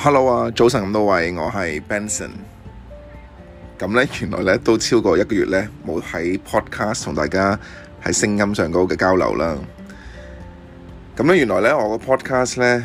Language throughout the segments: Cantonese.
Hello 啊，早晨咁多位，我係 Benson。咁咧，原來咧都超過1個月咧冇喺 podcast 同大家喺聲音上高嘅交流啦。咁咧，原來咧我個 podcast 咧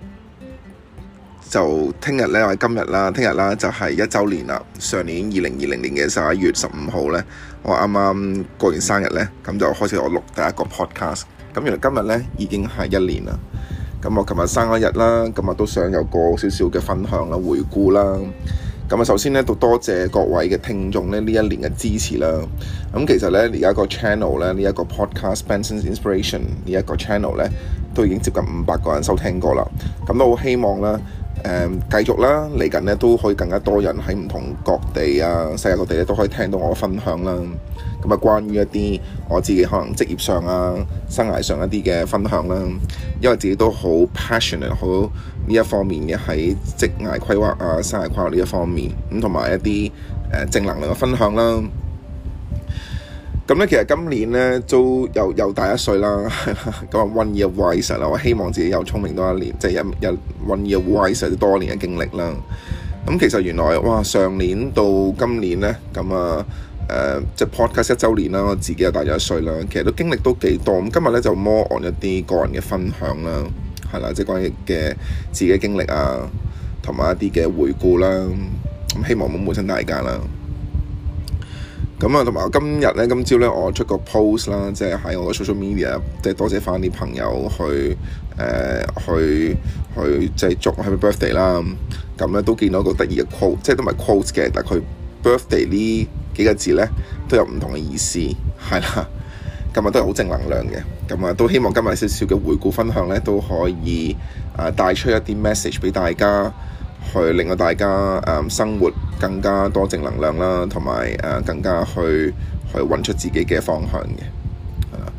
就聽日咧，或者今日啦，聽日啦就係1週年啦。上年2020年嘅11月15號咧，我啱啱過完生日咧，咁就開始我錄第一個 podcast。咁原來今日咧已經係1年啦。咁我琴日生咗日啦，咁啊都想有個少少嘅分享啦、回顧啦。咁啊，首先咧都多謝各位嘅聽眾咧呢1年嘅支持啦。咁其實咧而家個 channel 咧呢一個 podcast Benson's Inspiration 呢一個 channel 咧都已經接近500個人收聽過啦。咁都好希望啦，繼續啦，嚟緊咧都可以更加多人喺唔同各地啊、世界各地咧都可以聽到我嘅分享啦。咁啊，關於一啲我自己可能職業上啊、生涯上一啲嘅分享啦，因為自己都好 passionate 好呢一方面嘅喺職涯規劃啊、生涯規劃呢一方面，咁同埋一啲正能量嘅分享啦。咁咧，其實今年咧都又大1歲啦，咁啊 one year wiser 啦，我希望自己又聰明多1年，即係有 one year wiser 多1年嘅經歷啦。咁其實原來哇，上年到今年咧，咁啊即係 podcast 1週年啦，我自己又大咗1歲啦，其實都經歷都幾多。咁今日咧就 more on 一啲個人嘅分享啦，係啦，即係關於嘅自己嘅經歷啊，同埋一啲嘅回顧啦。咁希望冇悶親大家啦。咁啊，同埋今朝咧，我出個 post 啦，即係喺我嘅 social media，即係多謝翻啲朋友去即係祝我 Happy Birthday 啦。咁咧都見到個得意嘅 quote， 即係都唔係 quote 嘅，但係佢 birthday 呢幾個字咧都有唔同嘅意思，係啦。今日都係好正能量嘅，咁啊都希望今日少少嘅回顧分享咧都可以帶出一啲 message 俾大家，去令到大家生活更加多正能量啦，同埋更加去揾出自己嘅方向嘅，係啦。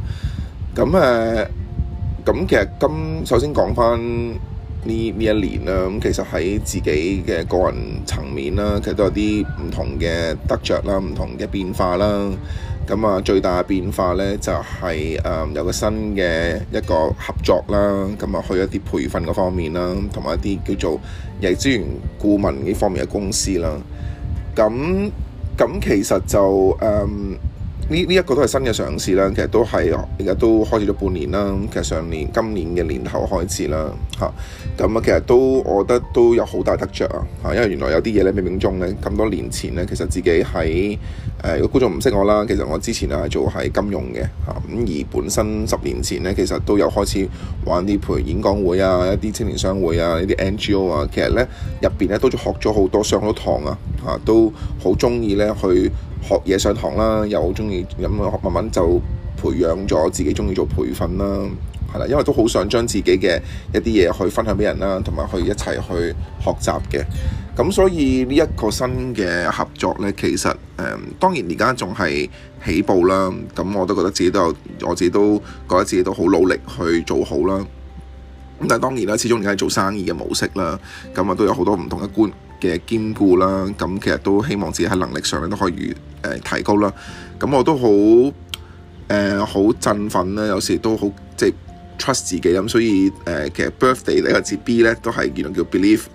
咁其實首先講翻呢一年啦，咁其實喺自己嘅個人層面啦，其實都有啲唔同嘅得着啦，唔同嘅變化啦。咁啊，最大嘅變化咧就係有個新嘅一個合作啦，咁啊去一啲培訓嗰方面啦，同埋一啲叫做人力資源顧問呢方面嘅公司啦。咁其實就呢一個都係新嘅嘗試啦，其實都係而家都開始咗半年啦。其實今年嘅年頭開始啦，咁其實我覺得都有好大得着啊，因為原來有啲嘢咧冥冥中咧咁多年前咧，其實自己喺如果觀眾唔識我啦，其實我之前係做喺金融嘅咁而本身10年前咧，其實都有開始玩啲譬如演講會啊、一啲青年商會啊、呢啲 NGO 啊，其實咧入邊咧都學咗好多，上好多堂啊，都好中意咧去學嘢上堂啦，又好中意咁慢慢就培養咗自己中意做培訓啦，係啦，因為都好想將自己嘅一啲嘢去分享俾人啦，同埋去一齊去學習嘅。咁所以呢一個新嘅合作呢，其實當然而家仲係起步啦。咁我都覺得我自己都覺得自己都好努力去做好啦。咁但係當然啦，始終而家係做生意嘅模式啦，咁啊都有好多唔同嘅兼顧啦。咁其實都希望自己喺能力上都可以提高啦。咁我都好振奮啦，有時都好即係 trust 自己咁。所以其實 birthday 呢個字 B 咧都係原來叫 believe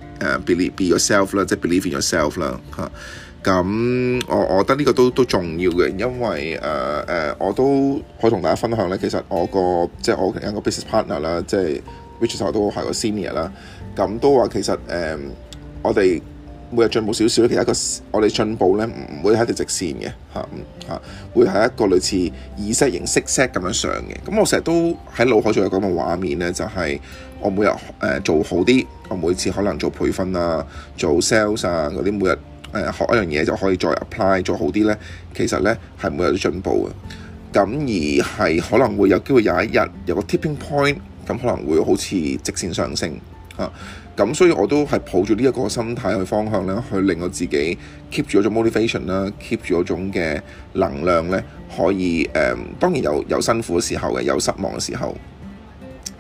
be yourself 啦，即係 believe in yourself 啦嚇。咁我覺得呢個都重要嘅，因為我都可以同大家分享咧。其實我有個 business partner 啦，即係 which 都係個 senior 啦。咁都話其實我哋每日進步少少，其實我哋進步咧唔會係一條直線嘅嚇，會係一個類似Z形 zigzag 咁樣上嘅。咁我成日都喺腦海中有咁嘅畫面咧，就係我每日做好啲，我每次可能做培訓啊、做 sales 啊嗰啲，每日學一樣嘢就可以再 apply 做好啲咧。其實咧係每日都進步嘅。咁而係可能會有機會有一日有個 tipping point，咁可能會好似直線上升嚇。咁所以我都係抱住呢一個心態去方向咧，去令我自己 keep 住嗰種 motivation 啦，keep 住嗰種嘅能量咧，可以當然有辛苦嘅時候嘅，有失望嘅時候。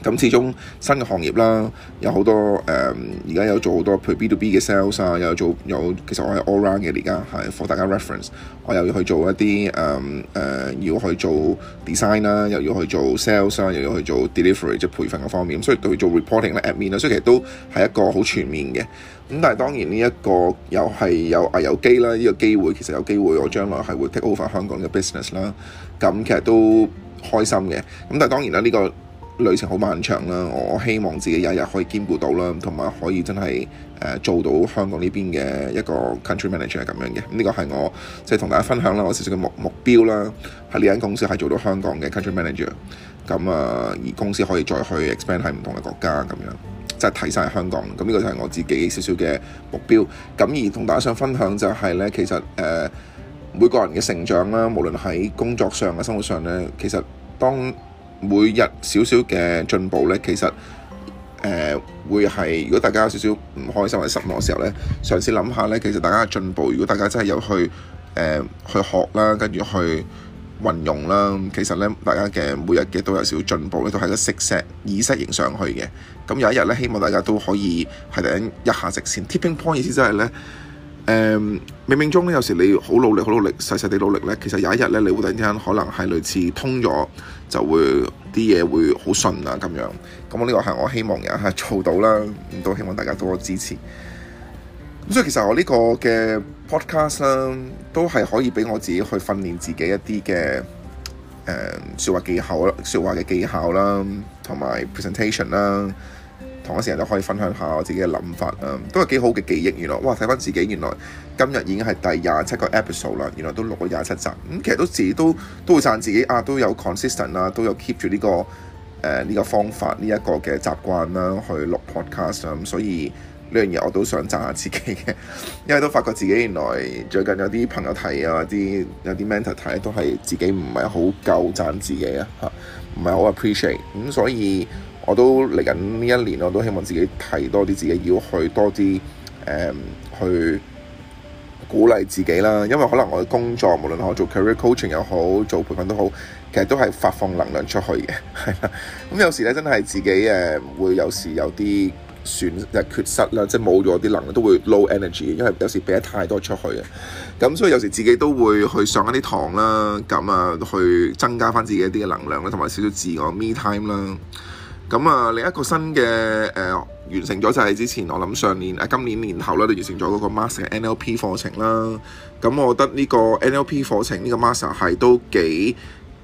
咁始終新嘅行業啦，有好多而家有做好多譬如 B2B 嘅 sales 啊，其實我係 all round 嘅，而家係 for 大家 reference。我又要去做一啲要去做 design 啦，又要去做 sales 啦，又要去做 delivery 即係培訓嘅方面，所以去做 reporting 啦、admin 啦，所以其實都係一個好全面嘅。咁但係當然呢一個又係有危有機啦，呢個機會其實有機會我將來係會 take over 香港嘅 business 啦，咁其實都開心嘅。咁但係當然啦，呢個旅程好漫長啦，我希望自己有一日可以兼顧到啦，同埋可以真係做到香港呢邊嘅一個 country manager 係咁樣嘅。呢個係我即係同大家分享啦，我少少嘅目標啦，喺呢間公司係做到香港嘅 country manager。咁而公司可以再去 expand 喺唔同嘅國家咁樣，即係睇晒香港。咁呢個就係我自己少少嘅目標。咁而同大家想分享就係咧，其實每個人嘅成長啦，無論喺工作上嘅生活上咧，其實當每日少少嘅進步咧，其實會係如果大家有少少唔開心或者失望嘅時候咧，嘗試諗下咧，其實大家嘅進步，如果大家真係有去學啦，跟住去運用啦，其實咧大家嘅每日嘅都有少少進步咧，都係個識石意識型上去嘅。咁有一日咧，希望大家都可以係突然一下直線 tipping point，意思即係咧冥冥中咧，有時你好努力，細細地努力咧，其實有一日咧，你會突然之間可能係類似通咗，就會啲嘢會好順啊咁樣。咁我呢個係我希望有一日做到啦，咁都希望大家多支持。咁所以其實我呢個嘅 podcast 啦，都係可以俾我自己去訓練自己一啲嘅説話嘅技巧啦，同埋 presentation 啦。同一時間就可以分享下我自己嘅諗法啊，都係幾好嘅記憶。原來哇，睇翻自己原來今日已經係第27個 episode 啦，原來都錄咗27集。其實自己都會讚自己啊，都有 consistent 啦，都有 keep 住呢個方法呢一個嘅習慣啦，去錄 podcast 啦。所以呢樣嘢我都想讚下自己嘅，因為都發覺自己原來最近有啲朋友睇啊，有啲 mentor 睇都係自己唔係好夠讚自己啊，唔係好 appreciate。咁所以我都嚟緊呢一年，我都希望自己提多啲自己，要去多啲去鼓勵自己啦。因為可能我嘅工作，無論我做 career coaching 又好，做培訓都好，其實都係發放能量出去嘅，係啦。咁有時咧，真係自己會有時有啲缺失啦，即係冇咗啲能量，都會 low energy，因為有時俾得太多出去嘅。咁所以有時自己都會去上一啲堂啦，咁去增加翻自己一啲嘅能量啦，同埋少少自我 me time 啦。咁另一個新嘅完成咗就係之前我諗今年年頭啦，就完成咗嗰個 master 嘅 NLP 課程啦。咁我覺得呢個 NLP 課程呢個 master 係都幾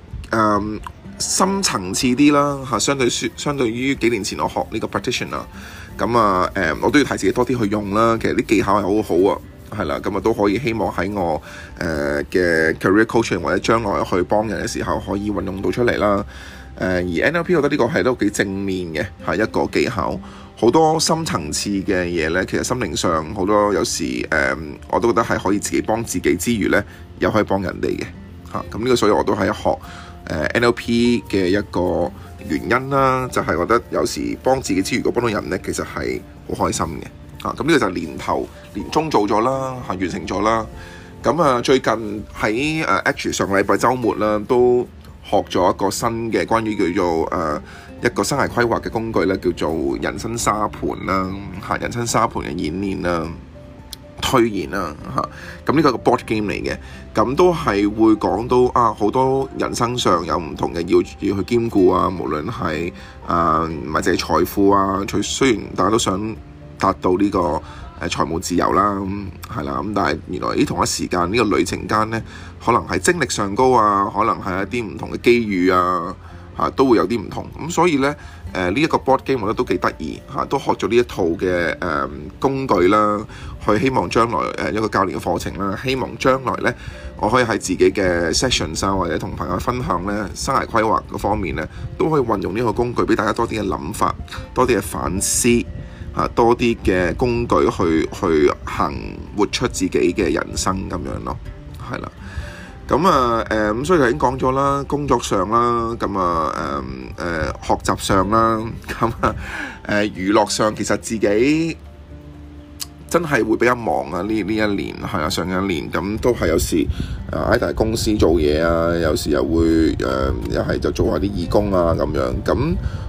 深層次啲啦嚇，相對於幾年前我學呢個 practitioner。咁我都要提自己多啲去用啦。其實啲技巧係好好啊，係啦。咁都可以希望喺我嘅 career coaching 或者將來去幫人嘅時候可以運用到出嚟啦。而 NLP 我覺得呢個係都幾正面嘅，係一個技巧，好多深層次嘅嘢呢，其實心靈上好多有時我都覺得係可以自己幫自己之餘呢，又可以幫人哋嘅嚇。咁呢個所以我都係學NLP 嘅一個原因啦，就係覺得有時幫自己之餘，如果幫到人呢，其實係好開心嘅嚇。咁呢個就係年中做咗啦嚇，完成咗啦。咁最近喺actually 上個禮拜週末啦都學咗一個新嘅關於叫做一個生涯規劃嘅工具咧，叫做人生沙盤啦嚇，人生沙盤嘅演練啦、推演啦嚇。咁呢個係個 board game 嚟嘅，咁都係會講到好多人生上有唔同嘅要去兼顧啊，無論係唔係淨係財富啊，雖然大家都想達到呢個財務自由啦，係啦，咁但係原來同一時間呢個旅程間呢，可能係精力上高啊，可能係一啲唔同嘅機遇啊，都會有啲唔同。咁所以呢，呢一個 board game 我覺得都幾得意嚇，都學咗呢一套嘅工具啦，去希望將來一個教練嘅課程啦，希望將來呢，我可以喺自己嘅 sessions 啊，或者同朋友分享呢生涯規劃嗰方面呢，都可以運用呢個工具俾大家多啲嘅諗法，多啲嘅反思。多啲嘅工具去活出自己嘅人生咁樣咯，係啦。咁所以頭先講咗啦，工作上啦，學習上啦，娛樂上其實自己真係會比較忙啊！呢一年係啊，上一年咁都係有時喺大公司做嘢啊，有時又會又係就做下啲義工啊咁樣。咁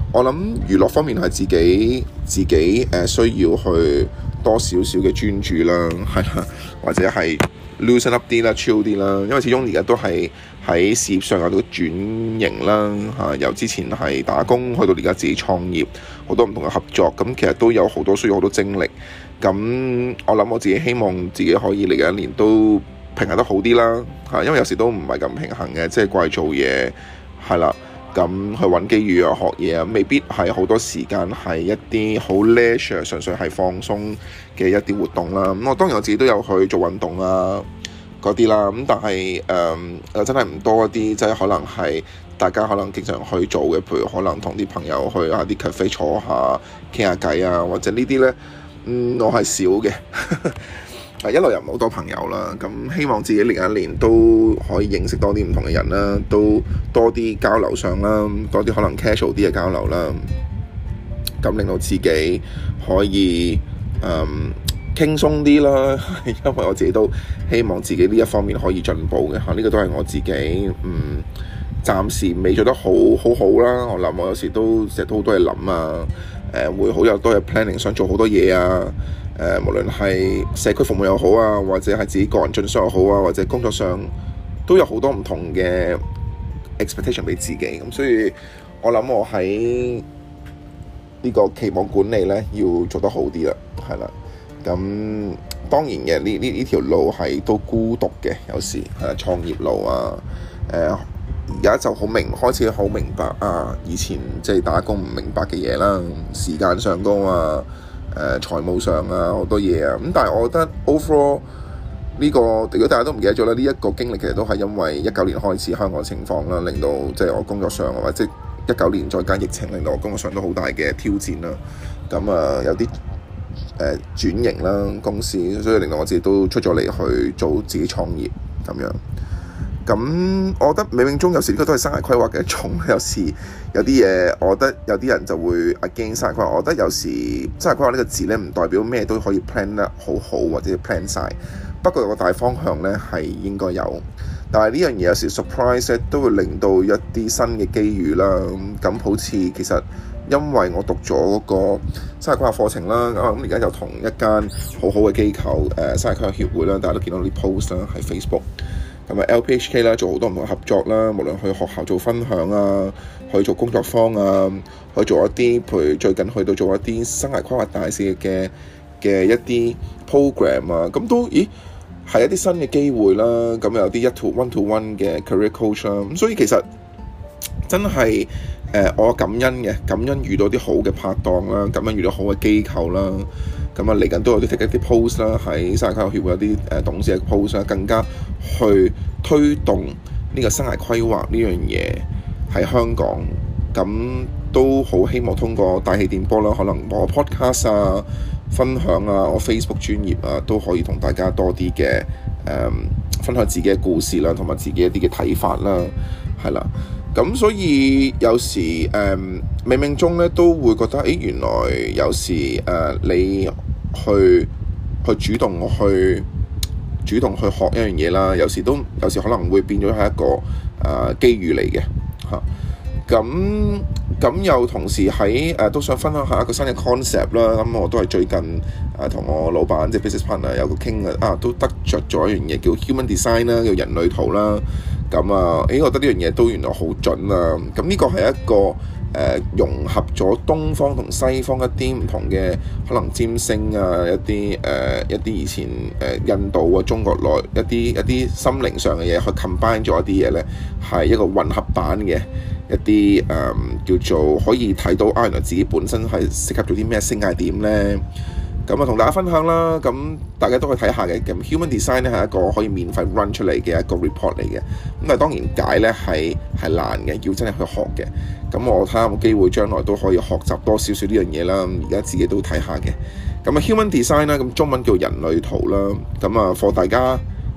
我諗娛樂方面係自己需要去多少少嘅專注啦，係啦，或者係 loosen up 啲啦 chill 啲啦，因為始終而家都係喺事業上有啲轉型啦嚇，由之前係打工去到而家自己創業，好多唔同嘅合作，咁其實都有好多需要好多精力。咁我諗我自己希望自己可以嚟緊一年都平衡得好啲啦嚇，因為有時都唔係咁平衡嘅，即係掛住做嘢係啦。咁去揾機遇啊，學嘢啊，未必係好多時間係一啲好 leisure， 純粹係放鬆嘅一啲活動啦。咁我當然我自己都有去做運動啊嗰啲啦。咁但係真係唔多一啲，即係可能係大家可能經常去做嘅，譬如可能同啲朋友去下啲 cafe 坐下傾下偈啊，或者呢啲呢，我係少嘅。一來又唔好多朋友啦，咁希望自己嚟緊一年都可以認識多啲唔同嘅人啦，都多啲交流上啦，多啲可能 casual 啲嘅交流啦，咁令到自己可以輕鬆啲啦，因為我自己都希望自己呢一方面可以進步嘅嚇，呢個都係我自己暫時未做得好啦。我諗我有時都成日都好多嘢諗啊，會好有多嘅 planning， 想做好多嘢啊。無論係社區服務又好啊，或者係自己個人進修又好啊，或者工作上都有好多唔同嘅 expectation 俾自己，咁所以我諗我喺呢個期望管理呢要做得好啲啦，係啦。咁當然嘅呢條路係都孤獨嘅，有時係創業路啊，而家就開始好明白啊，以前即係打工唔明白嘅嘢啦，時間上高啊。財務上啊好多嘢啊，咁但係我覺得 overall 呢個，如果大家都唔記得咗啦，呢一個經歷其實都係因為19年開始香港情況啦，令到即係我工作上或者19年再加疫情，令到我工作上都好大嘅挑戰啦。咁有啲轉型啦公司，所以令到我自己都出咗嚟去做自己創業咁樣。咁我覺得冥冥中有時呢個都係生涯規劃嘅一種，有時有啲嘢，我覺得有啲人就會 against 生涯規劃。我覺得有時生涯規劃呢個字呢，唔代表咩都可以 plan 得好好或者 plan 晒。不過有個大方向呢係應該有，但係呢樣嘢有時 surprise 都會令到一啲新嘅機遇啦。咁好似其實因為我讀咗嗰個生涯規劃課程啦，咁而家就同一間好好嘅機構生涯規劃協會啦，大家都見到啲 post 啦喺 Facebook。咁啊 LPHK 啦，做好多唔同合作啦，無論去學校做分享啊，去做工作坊啊，去做一啲譬如最近去到做一啲生涯規劃大使嘅一啲 program 啊，咁都係一啲新嘅機會啦。咁有啲one-to-one 嘅 career coach 啦，咁所以其實真係我感恩遇到啲好嘅拍檔啦，感恩遇到好嘅機構啦。咁嚟緊都有啲一啲 post 啦，喺生涯規劃協會有啲董事嘅 post 啦，更加去推動呢個生涯規劃呢樣嘢喺香港。咁都好希望通過大氣電波啦，可能我 podcast 啊、分享啊、我 Facebook 專頁啊，都可以同大家多啲嘅分享自己嘅故事啦，同埋自己一啲嘅睇法啦，係啦。咁所以有時冥冥中咧都會覺得，原來有時你去主動去學一樣嘢啦，有時可能會變咗係一個機遇嚟嘅嚇。咁又同時喺都想分享下一個新嘅 concept 啦。咁我都係最近同我老闆即係 business partner 有個傾都得着咗一樣嘢叫 human design 啦，叫人類圖啦。咁我覺得呢樣嘢都原來好準啊！咁呢個係一個融合咗東方同西方一啲唔同嘅可能占星啊，一啲以前印度啊、中國內一啲心靈上嘅嘢，去 combine 咗一啲嘢咧，係一個混合版嘅一啲叫做可以睇到原來自己本身係適合做啲咩星界點咧。咁同大家分享啦，咁大家都可以睇下嘅。咁 Human Design 咧係一個可以免費 run 出嚟嘅一個 report 嚟嘅。咁但係當然解咧係難嘅，要真係去學嘅。咁我睇下有冇機會將來都可以學習多少少呢樣嘢啦。而家自己都睇下嘅。咁Human Design 啦，咁中文叫人類圖啦。咁for 大家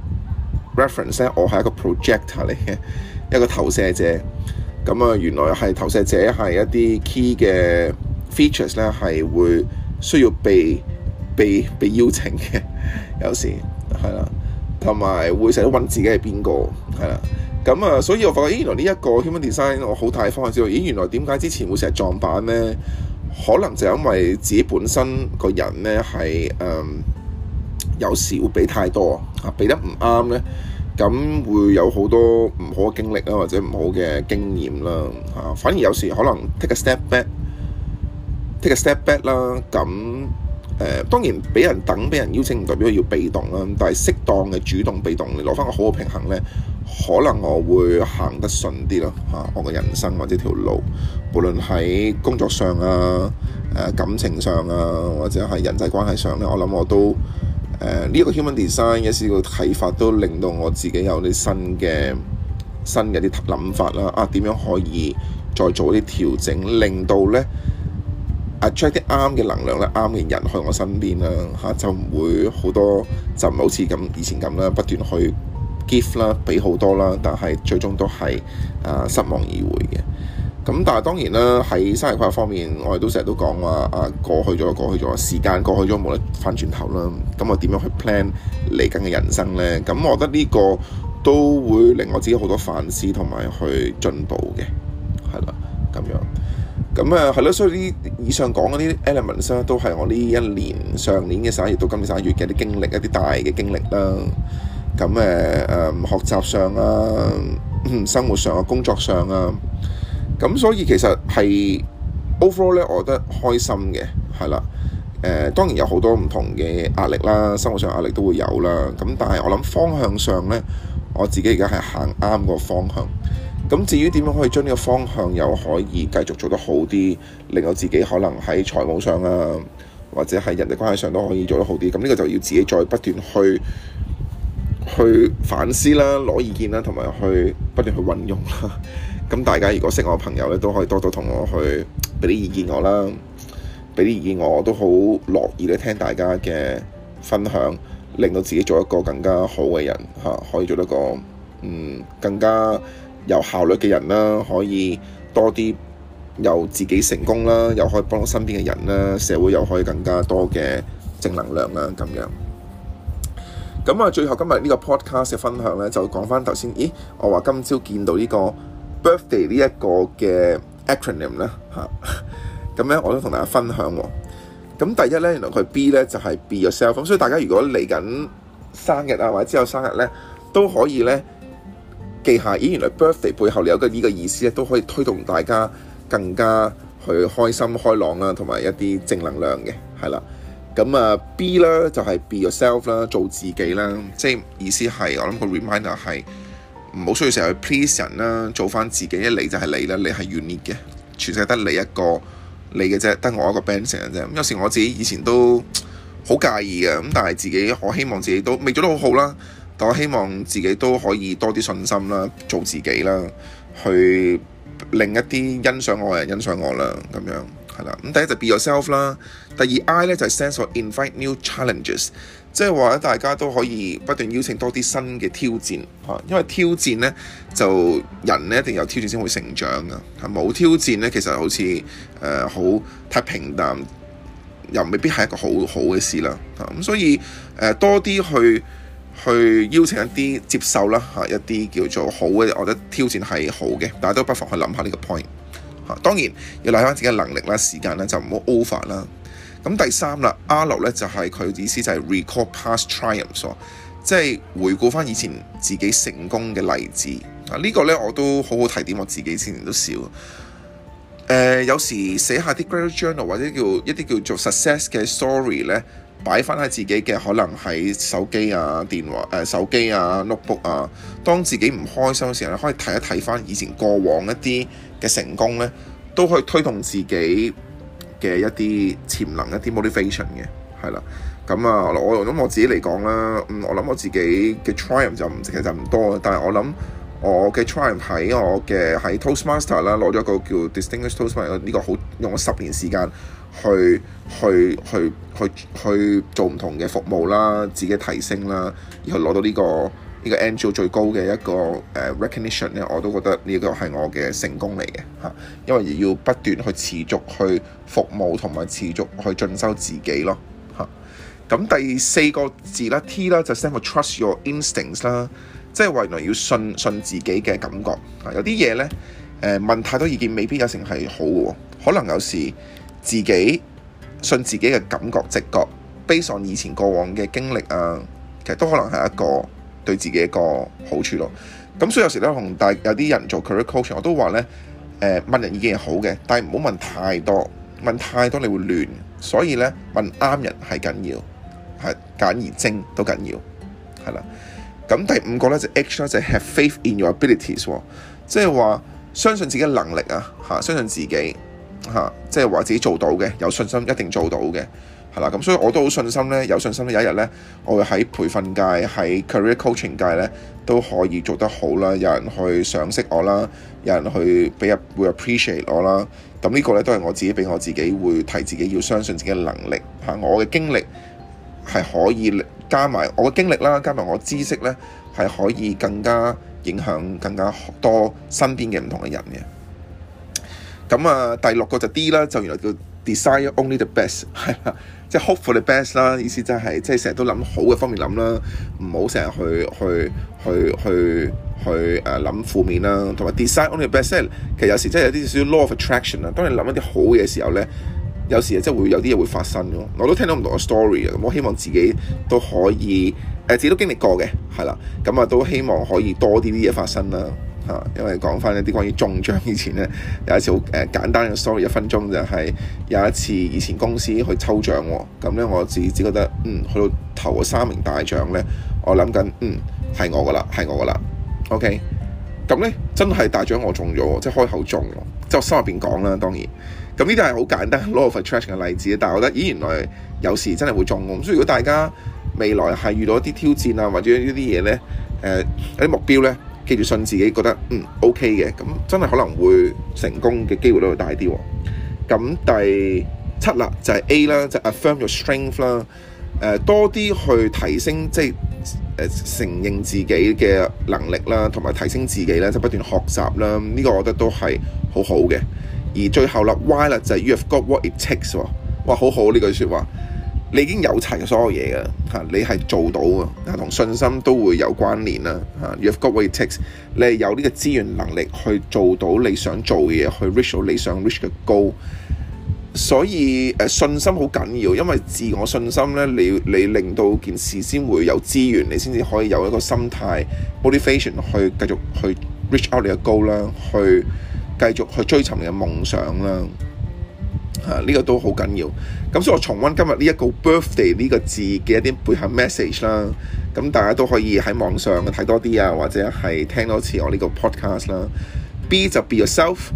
reference 咧，我係一個 projector 嚟嘅，一個投射者。咁原來係投射者係一啲 key 嘅 features 咧，係會需要被邀請嘅，有時係啦。 同埋會成日揾自己係邊個，係啦。咁啊，所以我發覺，原來呢一個 human design 我好大方向知道，原來點解之前會成日撞板呢？可能就因為自己本身個人呢係有時會俾太多俾得唔啱呢，咁會有好多唔好嘅經歷啦，或者唔好嘅經驗啦反而有時可能 take a step back 啦，咁當然俾人邀請唔代表要被動啦，但係適當嘅主動被動，你攞翻個好嘅平衡呢，可能我會行得順啲咯我嘅人生或者條路，無論喺工作上感情上或者係人際關係上呢，我諗我都呢一個 human design 嘅一個啟發，都令到我自己有啲新嘅啲諗法啦點樣可以再做啲調整，令到呢attract 啲啱嘅能量咧，啱嘅人去我身邊啦就唔會好多，就唔好似咁以前咁啦，不斷去 give 啦，俾好多啦，但係最終都係失望而回嘅。咁但係當然啦，喺生涯規劃方面，我哋都成日都講話過去咗，時間過去咗冇得翻轉頭啦。咁我點樣去 plan 嚟緊嘅人生呢？咁我覺得呢個都會令我自己好多反思同埋去進步嘅，係啦咁樣。咁係咯，所以以上講嗰啲 elements 咧，都係我呢一年上年嘅11月到今年11月嘅啲經歷，一啲大嘅經歷啦。咁學習上生活上工作上咁所以其實係 overall 咧，我覺得開心嘅，係啦。當然有好多唔同嘅壓力啦，生活上壓力都會有啦。咁但係我諗方向上咧，我自己而家係行啱個方向。咁至於點樣可以將呢個方向又可以繼續做得好啲，令到自己可能喺財務上或者喺人際關係上都可以做得好啲。咁呢個就要自己再不斷去反思啦，攞意見啦，同埋去不斷去運用啦。咁大家如果識我嘅朋友咧，都可以多多同我去俾啲意見我啦，俾啲意見我都好樂意咧聽大家嘅分享，令到自己做一個更加好嘅人可以做一個更加有效率嘅人啦，可以多啲由自己成功啦，又可以幫到身邊嘅人啦，社會又可以更加多嘅正能量啦，咁樣。咁最後今日呢個 podcast 嘅分享咧，就講翻頭先，我話今朝見到呢個 birthday 呢一個嘅 acronym 咧咁咧我都同大家分享喎。咁第一咧，原來佢 B 咧就係 be yourself， 咁所以大家如果嚟緊生日或者之後生日咧，都可以咧記下，原來 birthday 背後有呢個意思咧，都可以推動大家更加去開心開朗啦，同埋一啲正能量嘅，係啦。咁B 啦就係 be yourself 啦，做自己啦，即係意思係我諗個 reminder 係唔好需要成日去 please 人啦，做翻自己，一嚟就係你啦，你係 unique 嘅，全世界得你一個你嘅啫，得我一個 band 成嘅啫。咁有時我自己以前都好介意嘅，咁但係自己我希望自己都未做得好好啦，但我希望自己都可以多啲信心啦，做自己啦，去令一啲欣賞我嘅人欣賞我啦，咁樣。係啦，咁第一就 be yourself 啦，第二 I 咧就係 sense for invite new challenges， 即係話大家都可以不斷邀請多啲新嘅挑戰因為挑戰咧就人咧一定有挑戰先會成長噶，冇挑戰咧其實好似好太平淡，又未必係一個好好嘅事啦，咁所以多啲去邀請一啲接受啦一啲叫做好嘅，我覺得挑戰係好嘅，大家都不妨去諗下呢個 point。當然要睇翻自己嘅能力啦，時間咧就唔好 over 啦。咁第三啦 R 咧就係佢意思就係 recall past triumphs， 即係回顧翻以前自己成功嘅例子。呢個咧我都好好提點我自己，之前都少。有時寫下啲 gratitude journal 或者一啲叫做 success 嘅 story 咧，擺翻喺自己嘅可能喺手機電話手機notebook 當自己唔開心嘅時候咧，可以睇一睇翻以前過往一啲嘅成功咧，都可以推動自己嘅一啲潛能、一啲 motivation 嘅，係啦。咁我諗我自己嚟講啦，我諗我自己嘅 triumph 其實就唔多，但係我諗我嘅 triumph 喺 Toastmaster 啦，攞咗一個叫 Distinguished Toastmaster 呢個好用咗10年時間去做唔同嘅服務啦，自己提升啦，然後攞到呢個 NGO 最高嘅一個recognition 咧，我都覺得呢個係我嘅成功嚟嘅嚇，因為要不斷去持續去服務同埋持續去進修自己咯嚇。 咁第4個字啦 T 啦就 stand for trust your instincts 啦，即係話原來要信自己嘅感覺。有啲嘢咧問太多意見未必有成係好嘅，可能有時自己信自己嘅感覺直覺 based on 以前過往嘅經歷啊，其實都可能係一個對自己一個好處咯。咁所以有時咧同有啲人做 career coaching，我都話咧問人意見係好嘅，但係唔好問太多，問太多你會亂。所以咧問啱人係緊要，係簡而精都緊要，係啦。咁第5個咧就 H 啦，就係 have faith in your abilities，即係話相信自己嘅能力啊，相信自己即係話自己做到嘅，有信心一定做到嘅，係啦。咁所以我都好信心咧，有信心咧有一日咧，我會喺培訓界、喺 career coaching 界咧都可以做得好啦，有人去賞識我啦，有人去會 appreciate 我啦。咁呢個咧都係我自己俾我自己會提自己要相信自己嘅能力，我嘅經歷係可以加埋我嘅經歷啦，加埋我知識咧係可以更加影響更加多身邊嘅唔同嘅人嘅。咁第6個就 D 啦，就原來叫 desire only the best， 係啦，即係 hope for the best 啦，意思即係成日都諗好嘅方面諗啦，唔好成日去諗負面啦，同埋 desire only the best， 其實有時真係有啲少少 law of attraction 啦。當你諗一啲好嘅時候咧，有時真係會有啲嘢會發生咯。我都聽到唔同嘅 story 啊，咁我希望自己都可以自己都經歷過嘅，係啦，咁都希望可以多啲嘢發生啦。因為講翻一啲關於中獎以前咧，有一次好簡單嘅 story， 1分鐘就係有一次以前公司去抽獎喎，咁咧我自己覺得去到頭嗰3名大獎咧，我諗緊係我噶啦，OK， 咁咧真係大獎我中咗，即係開口中，即係我心入邊講啦，當然，咁呢啲係好簡單 law of attraction 嘅例子，但係我覺得原來有時真係會中咁，所以如果大家未來係遇到一啲挑戰啊，或者呢啲嘢咧，有啲目標咧，記住信自己，覺得OK 嘅，咁真係可能會成功嘅機會都會大啲喎。咁第7啦，就係 A 啦，就 affirm your strength 啦，多啲去提升，即係承認自己嘅能力啦，同埋提升自己咧，就不斷學習啦。呢個我覺得都係好好嘅。而最後啦 Y 啦，就係 you have got what it takes 喎，哇，好好呢句説話。你已經有齊所有嘢㗎，你係做到㗎，同信心都會有關聯啦。You have got what it takes， 你係有呢個資源能力去做到你想做嘅嘢，去 reach 到你想 reach 嘅 goal。所以信心好緊要，因為自我信心咧，你令到件事先會有資源，你先至可以有一個心態 motivation 去繼續去 reach out 你嘅 goal 啦，去繼續去追尋你嘅夢想啦。呢個都好緊要，咁所以我重溫今日呢一個 birthday 呢個字嘅一啲背後 message 啦，咁大家都可以喺網上睇多啲啊，或者係聽多次我呢個 podcast 啦。B 就 be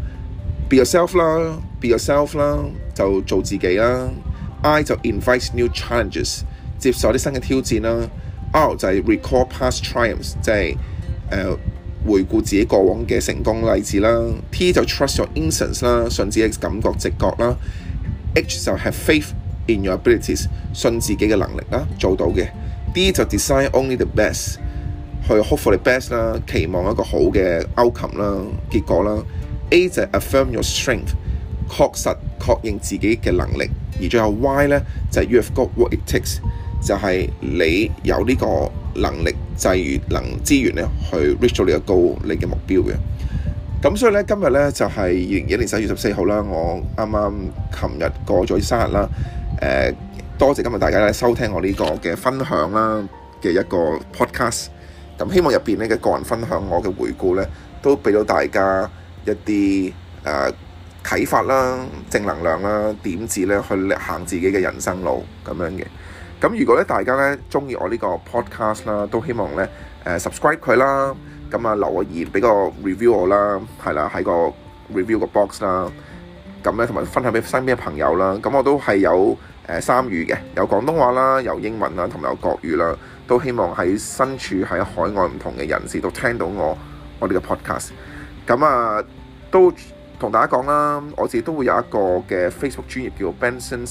yourself 啦 ，be yourself 啦，就做自己啦。I 就 invite new challenges， 接受啲新嘅挑戰啦。R 就係 recall past triumphs， 即係回顧自己過往嘅成功例子啦。T 就 trust your instincts 啦，信自己嘅感覺直覺啦。H 就 have faith in your abilities， 信自己嘅能力啦，做到嘅。D 就 desire only the best， 去 hope for the best 啦，期望一個好嘅 outcome 啦，結果啦。A 就 affirm your strength， 確認自己嘅能力。而最後 Y 咧就係 you have got what it takes， 就係你有呢個能力際遇資源咧去 reach 到你嘅 goal， 你嘅目標嘅。咁所以咧今日咧就係2021年11月14號啦，我啱啱琴日過咗生日啦。多謝今日大家咧收聽我呢個嘅分享啦嘅一個 podcast。咁希望入邊呢嘅個人分享我嘅回顧咧，都俾到大家一啲啟發啦、正能量啦、點子咧去行自己嘅人生路咁樣嘅。咁如果咧大家咧中意我呢個 podcast 啦，都希望咧subscribe 佢啦，咁留個言俾個 review 我啦，係啦，喺個 review 個 box 啦，咁咧同埋分享俾身邊嘅朋友啦。咁我都係有3語嘅，有廣東話啦，有英文啦，同埋有國語啦。都希望喺身處喺海外唔同嘅人士都聽到我呢個 podcast。咁都同大家講啦，我自己都會有一個嘅 Facebook 專頁叫 Benson's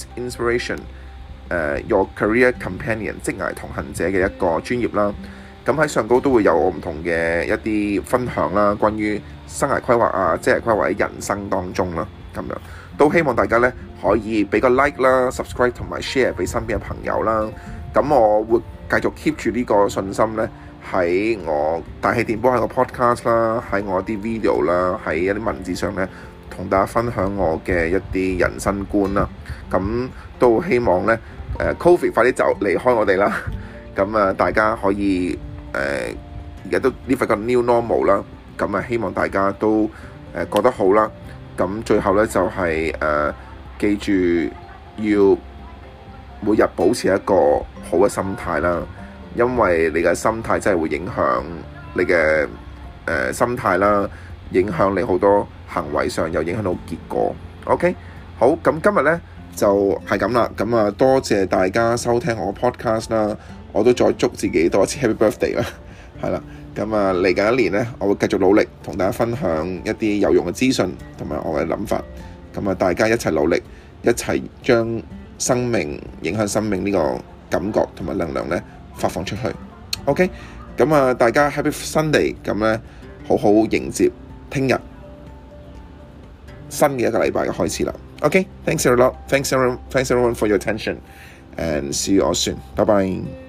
Inspiration。Your Career Companion 職涯同行者嘅一個專頁啦，咁喺上高都會有我唔同嘅一啲分享啦，關於生涯規劃啊、職涯規劃喺人生當中啦咁樣， 都希望大家咧可以俾個 like 啦、subscribe 同埋 share 俾身邊嘅朋友啦。咁我會繼續 keep 住呢個信心咧，喺我大氣電波喺個 podcast 啦，喺我啲 video 啦，喺一啲文字上咧，同大家分享我嘅一啲人生觀啦。咁都希望咧，Covid 快啲就離開我哋啦。咁大家可以而家都呢份個 new normal 啦。咁希望大家都過得好啦。咁最後咧就係記住要每日保持一個好嘅心態啦，因為你嘅心態真係會影響你嘅心態啦，影響你好多行為上，又影響到結果。OK， 好，咁今日咧就係咁啦。咁多謝大家收聽我嘅 podcast 啦，我都再祝自己多一次 Happy Birthday 啦，係啦。咁嚟緊一年咧，我會繼續努力同大家分享一啲有用嘅資訊同埋我嘅諗法。咁大家一齊努力，一齊將生命影響生命呢個感覺同埋能量咧發放出去。OK， 咁大家 Happy Sunday， 咁咧好好迎接聽日新嘅一個禮拜嘅開始啦。OK， thanks a lot，thanks everyone for your attention，and see you all soon。拜拜。